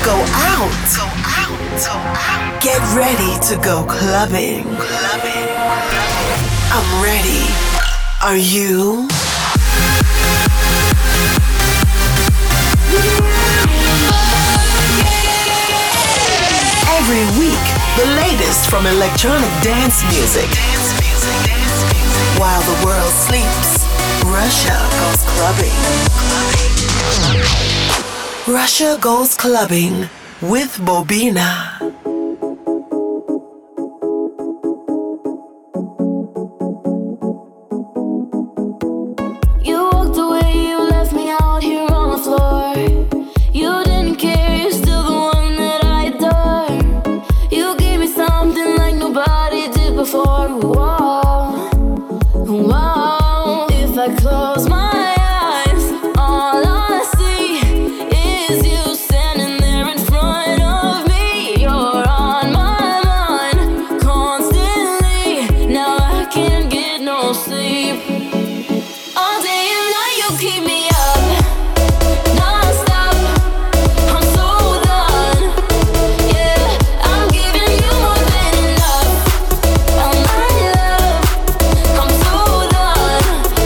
Go out. Get ready to go clubbing. I'm ready. Are you? Every week, the latest from electronic dance music. While the world sleeps, Russia goes clubbing. Russia goes clubbing with Bobina. Close my eyes, all I see is you standing there in front of me. You're on my mind constantly. Now I can't get no sleep. All day and night you keep me up, non-stop. I'm so done. Yeah, I'm giving you more than enough. Oh my love, I'm so done.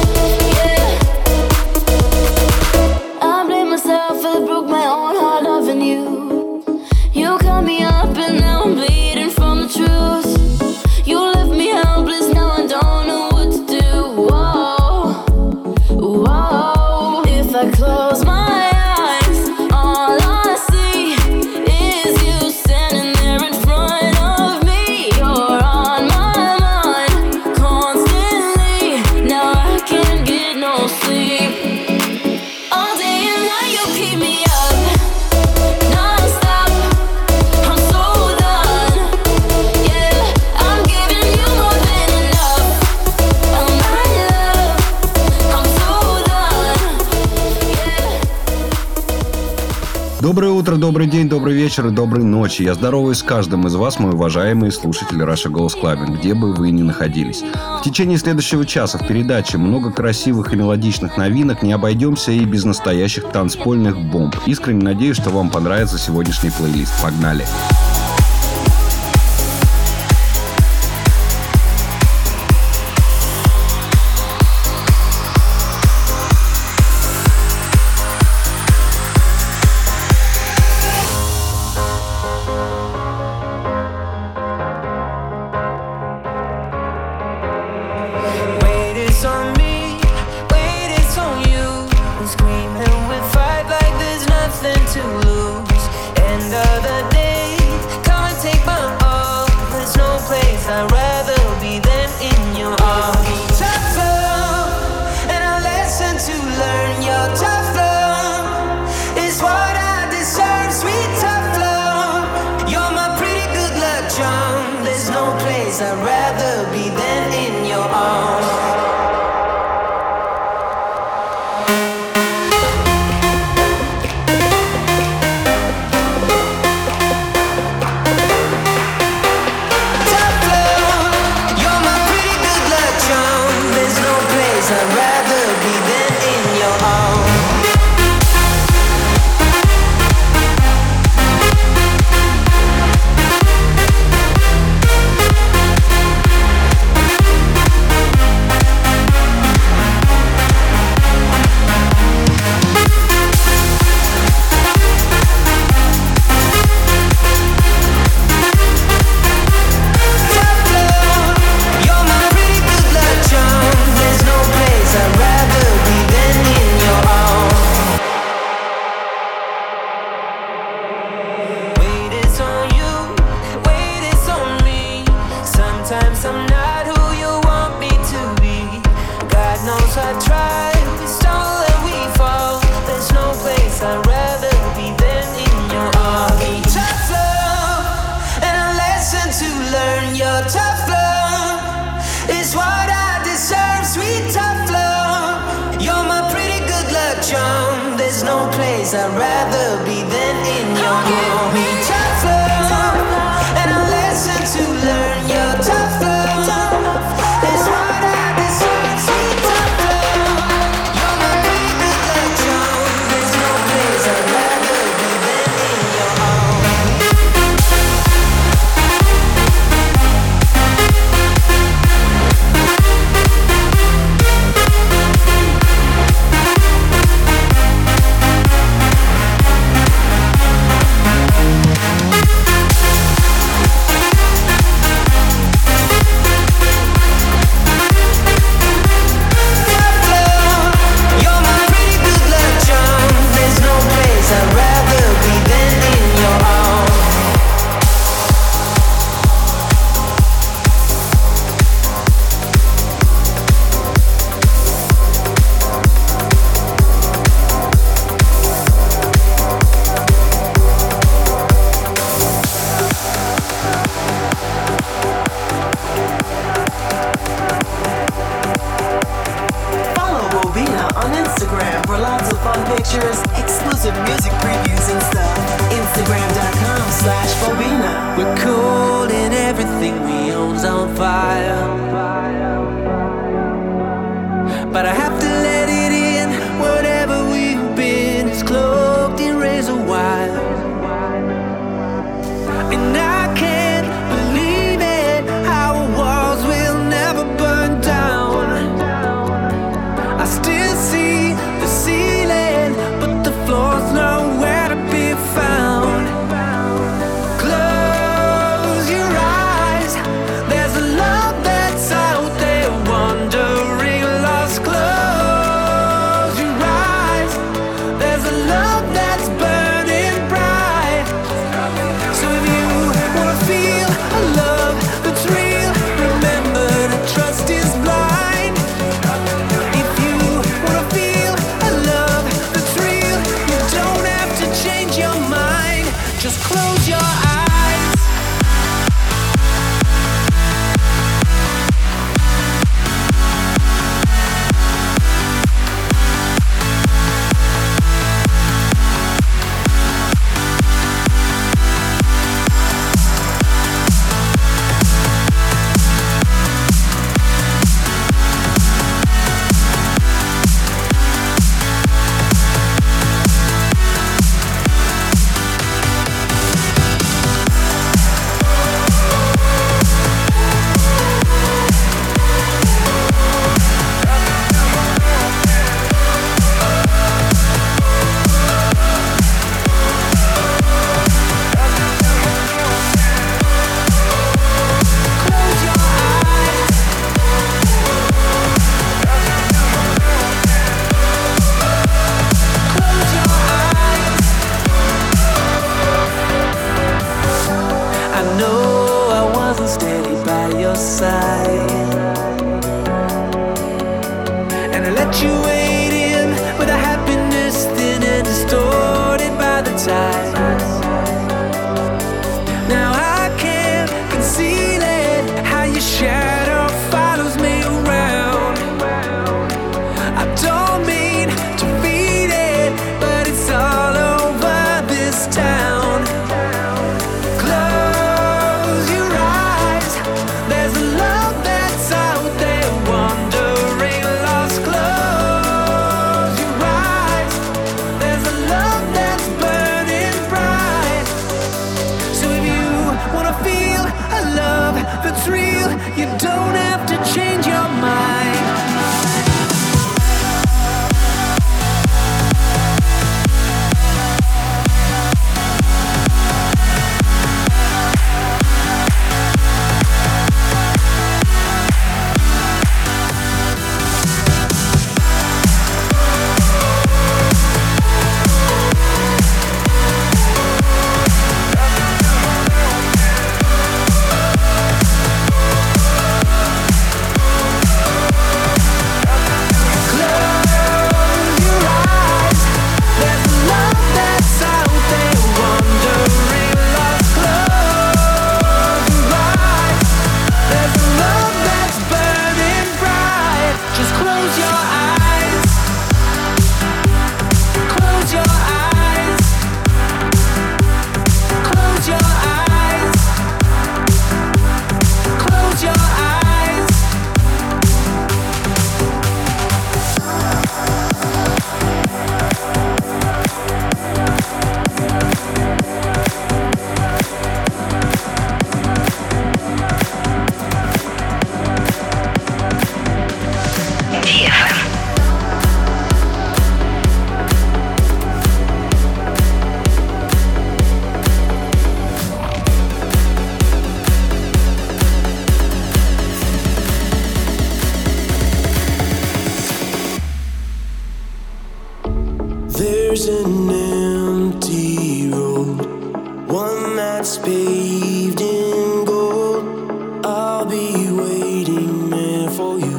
I blame myself, I broke my own heart loving you. You cut me up and now I'm bleeding from the truth. You left me helpless, now I don't know what to do. Whoa, whoa. If I close my eyes, all I see is you standing there in front of me. You're on my mind constantly. Now I can't get no sleep. All day and night you keep me up, non-stop. I'm so done. Yeah, I'm giving you more than enough. Oh my love, I'm so done. Yeah. Доброе утро, добрый день, добрый вечер и доброй ночи. Я здороваюсь с каждым из вас, мои уважаемые слушатели Russia Goes Clubbing, где бы вы ни находились. В течение следующего часа в передаче много красивых и мелодичных новинок, не обойдемся и без настоящих танцпольных бомб. Искренне надеюсь, что вам понравится сегодняшний плейлист. Погнали! Wait, it's on me. Wait, it's on you. We scream and we fight like there's nothing to lose. End of the day, come and take my all. There's no place I'd rather be than in your arms. Tough love, and a lesson to learn. Your tough love is what I deserve. Sweet tough love, you're my pretty good luck charm. There's no place I'd rather be than in your arms. Tough love, you're my pretty good luck charm. There's no place I'd rather be than in your arms. Tough love, you're my pretty good luck charm. There's no place I'd rather be than in your arms. Wait, it's on you. Wait, it's on me. Sometimes I'm not who you want me to be. God knows I tried. We stumble and we fall. There's no place I'd rather be than in your arms. Tough love, and a lesson to learn. Your tough love is what I deserve. Sweet tough love, you're my pretty good luck charm. There's no place I'd rather be than in your arms. Tough love, and a lesson to learn. Your tough love is what I deserve. Sweet tough love, you're my pretty good luck charm. There's no place I'd rather be than in your arms. Instagram for lots of fun pictures, exclusive music previews and stuff. Instagram.com/Bobina. We're cold and everything we own's on fire, but I have to let it in. Whatever we've been is cloaked in razor wire, and I can't believe it. Our walls will never burn down. I still see the ceiling, but the floor's nowhere to be found. Close your eyes. There's a love that's out there, wandering lost. Close your eyes. There's a love that's burning bright. So if you wanna feel a love that's real, remember that trust is blind. If you wanna feel a love that's real, you don't have to change your mind. Just close your eyes. I know I wasn't steady by your side, and I let you wade in with a happiness thin and distorted by the tides. Now I can't conceal it, how your shadow follows me around. I don't mean to feed it, but it's all over this town. Close your eyes. There's a love that's out there, wandering lost. Close your eyes. There's a love that's burning bright. So if you wanna feel a love that's real, you don't have to change your mind. There's an empty road, one that's paved in gold. I'll be waiting there for you.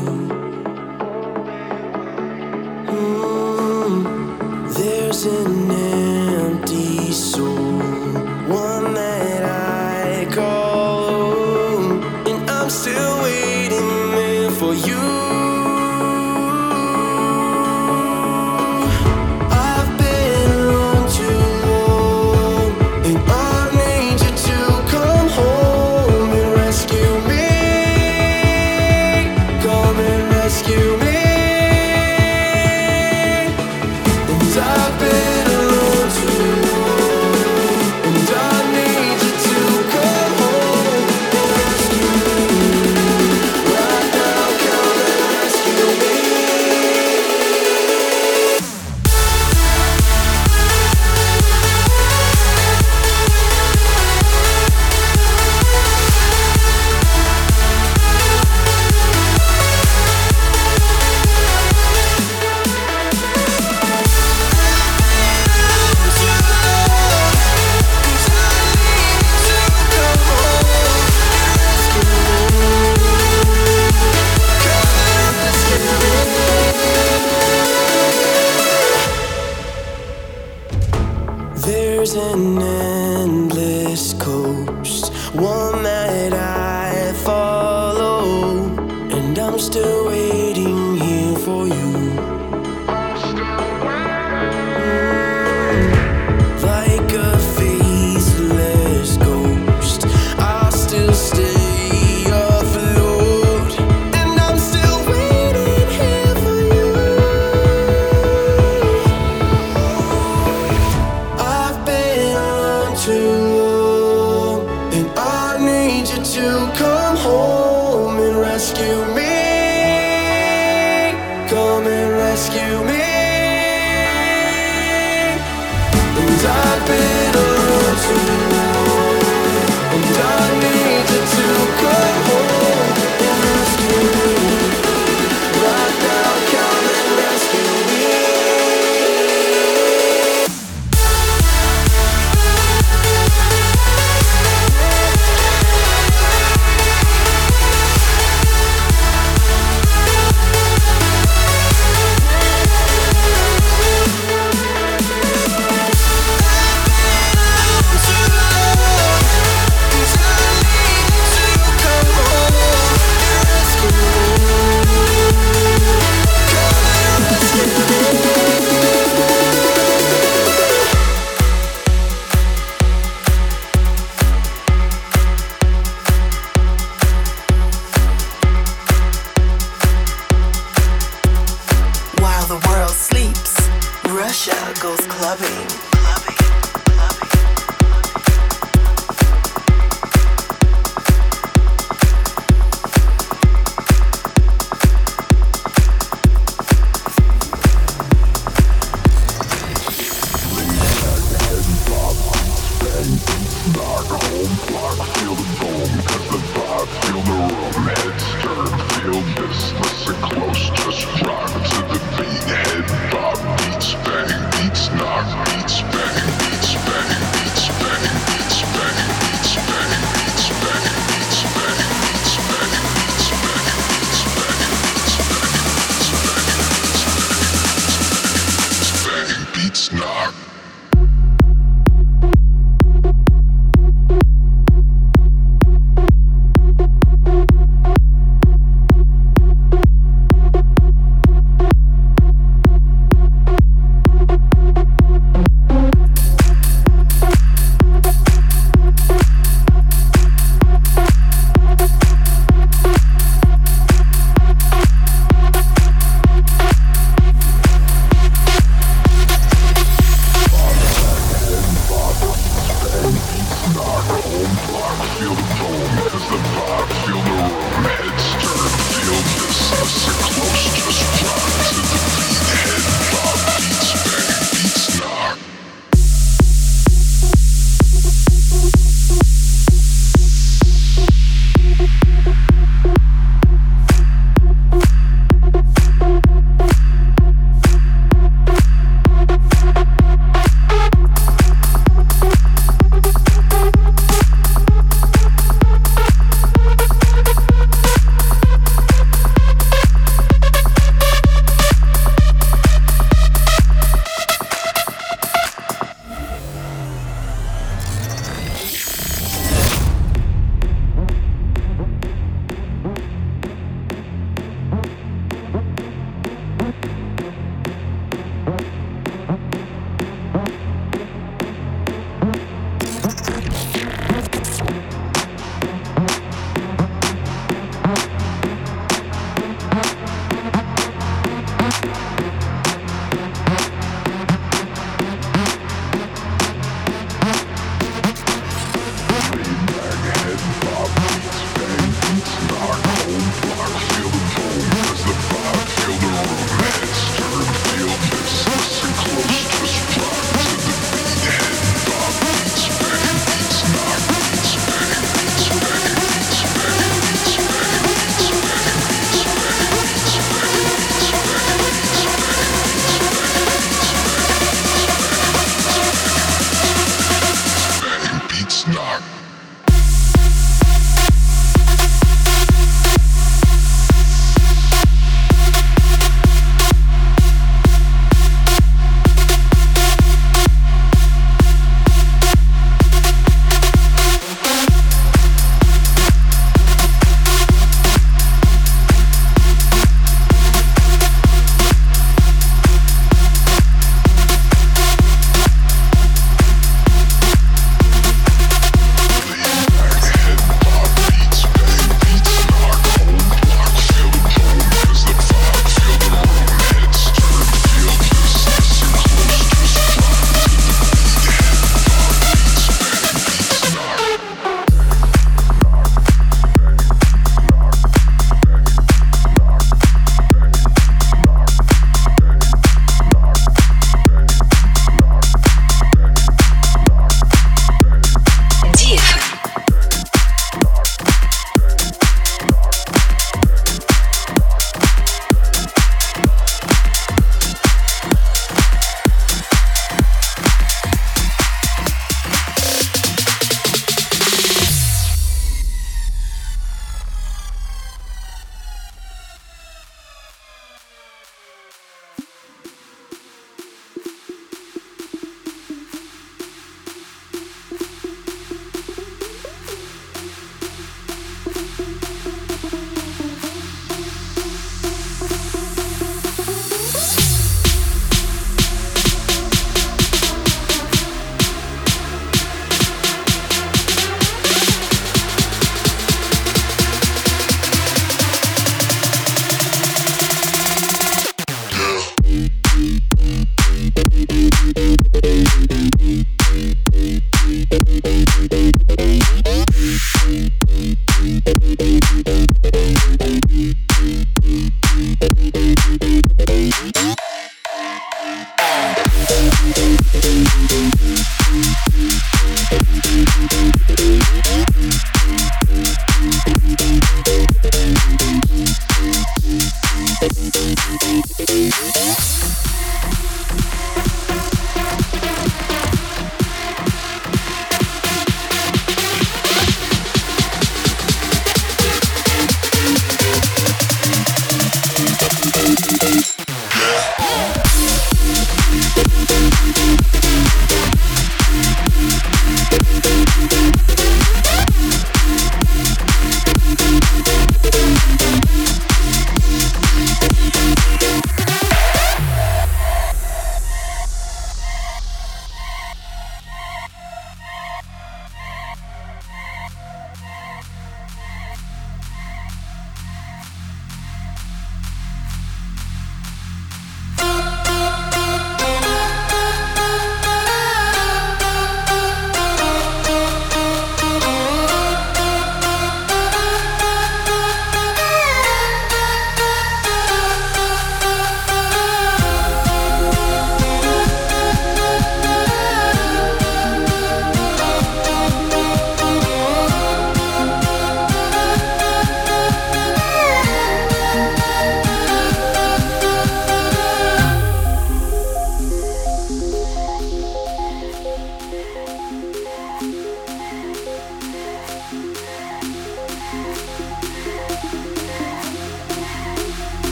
There's an empty soul, one that I call home, and I'm still waiting there for you. There's an endless coast, one that I follow, and I'm still waiting here for you. Like a faceless ghost, I'll still stay afloat, and I'm still waiting here for you. I've been on too long, and I need you to come home and rescue me. Come and rescue me. And I've been around too long, and I need you to come home and rescue me. Right now, come and rescue me. While the world sleeps, Russia goes clubbing. Listen close, just rock to the beat. Head bob, beats bang, beats knock, beats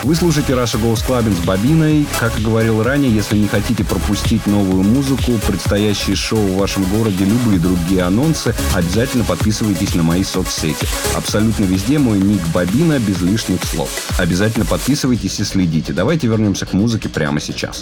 Вы слушаете Russia Goes Clubbing с Бобиной. Как и говорил ранее, если не хотите пропустить новую музыку, предстоящие шоу в вашем городе, любые другие анонсы, обязательно подписывайтесь на мои соцсети. Абсолютно везде мой ник Бобина без лишних слов. Обязательно подписывайтесь и следите. Давайте вернемся к музыке прямо сейчас.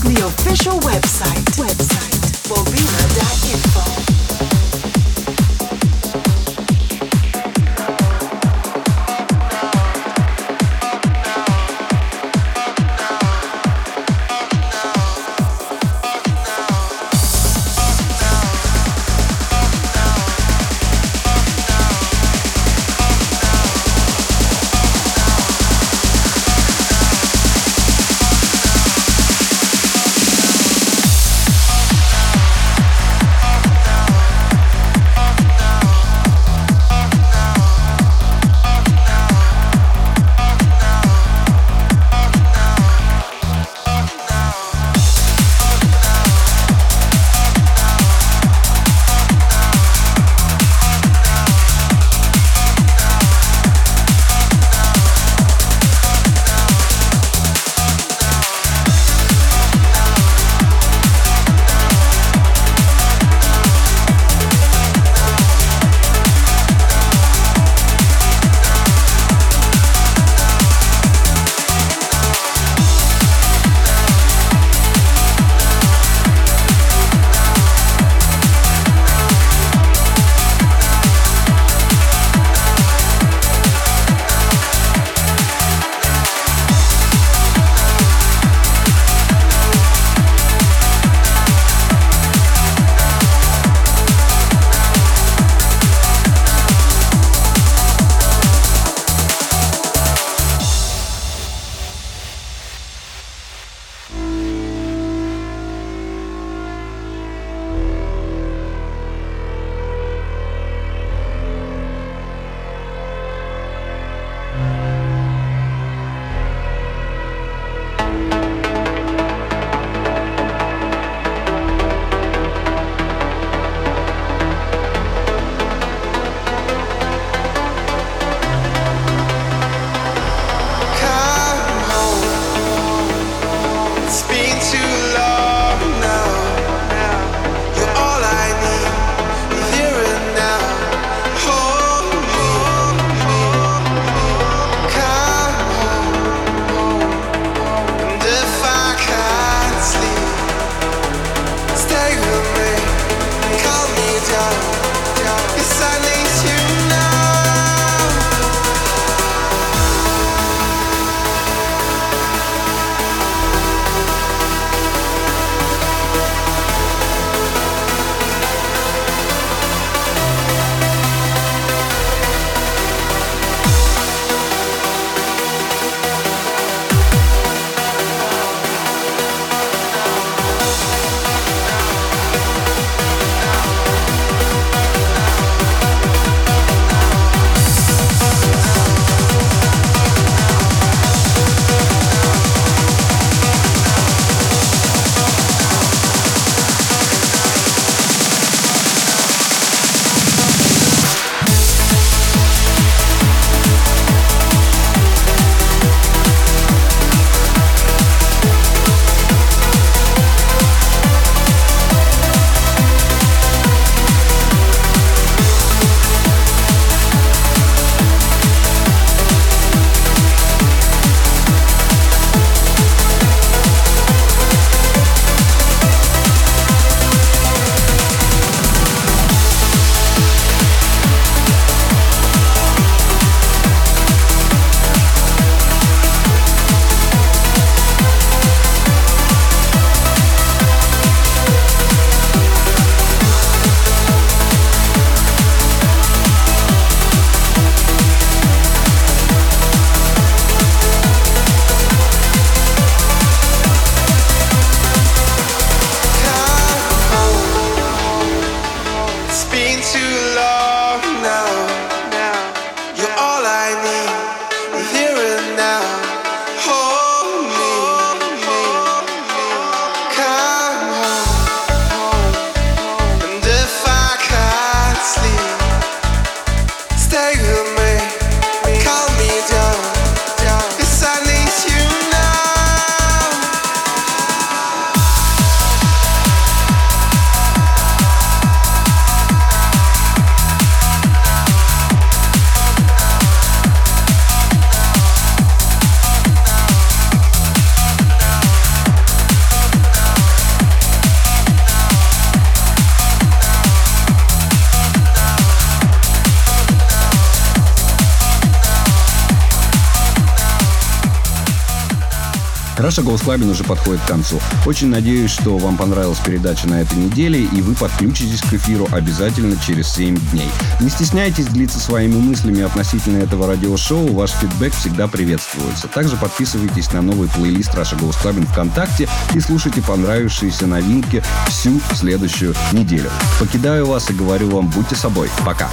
the official website bobina.info. Раша Голос Клабин уже подходит к концу. Очень надеюсь, что вам понравилась передача на этой неделе, и вы подключитесь к эфиру обязательно через 7 дней. Не стесняйтесь делиться своими мыслями относительно этого радиошоу, ваш фидбэк всегда приветствуется. Также подписывайтесь на новый плейлист Раша Голос Клабин ВКонтакте и слушайте понравившиеся новинки всю следующую неделю. Покидаю вас и говорю вам, будьте собой. Пока.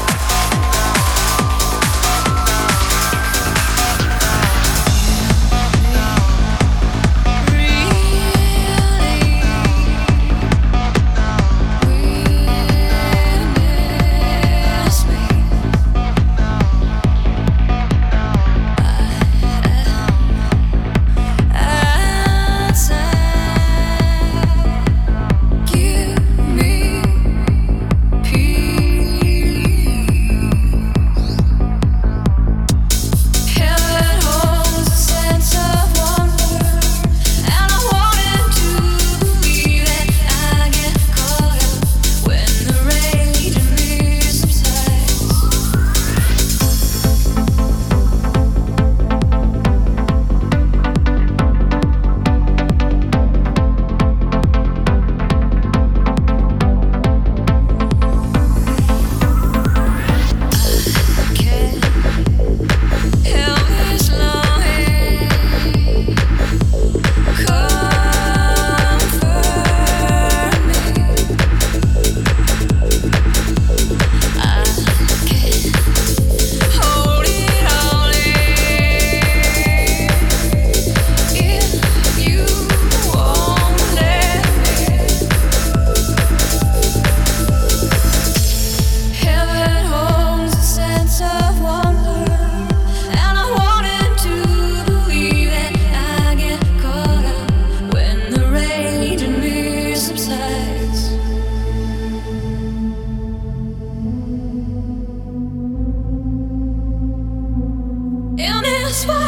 In this world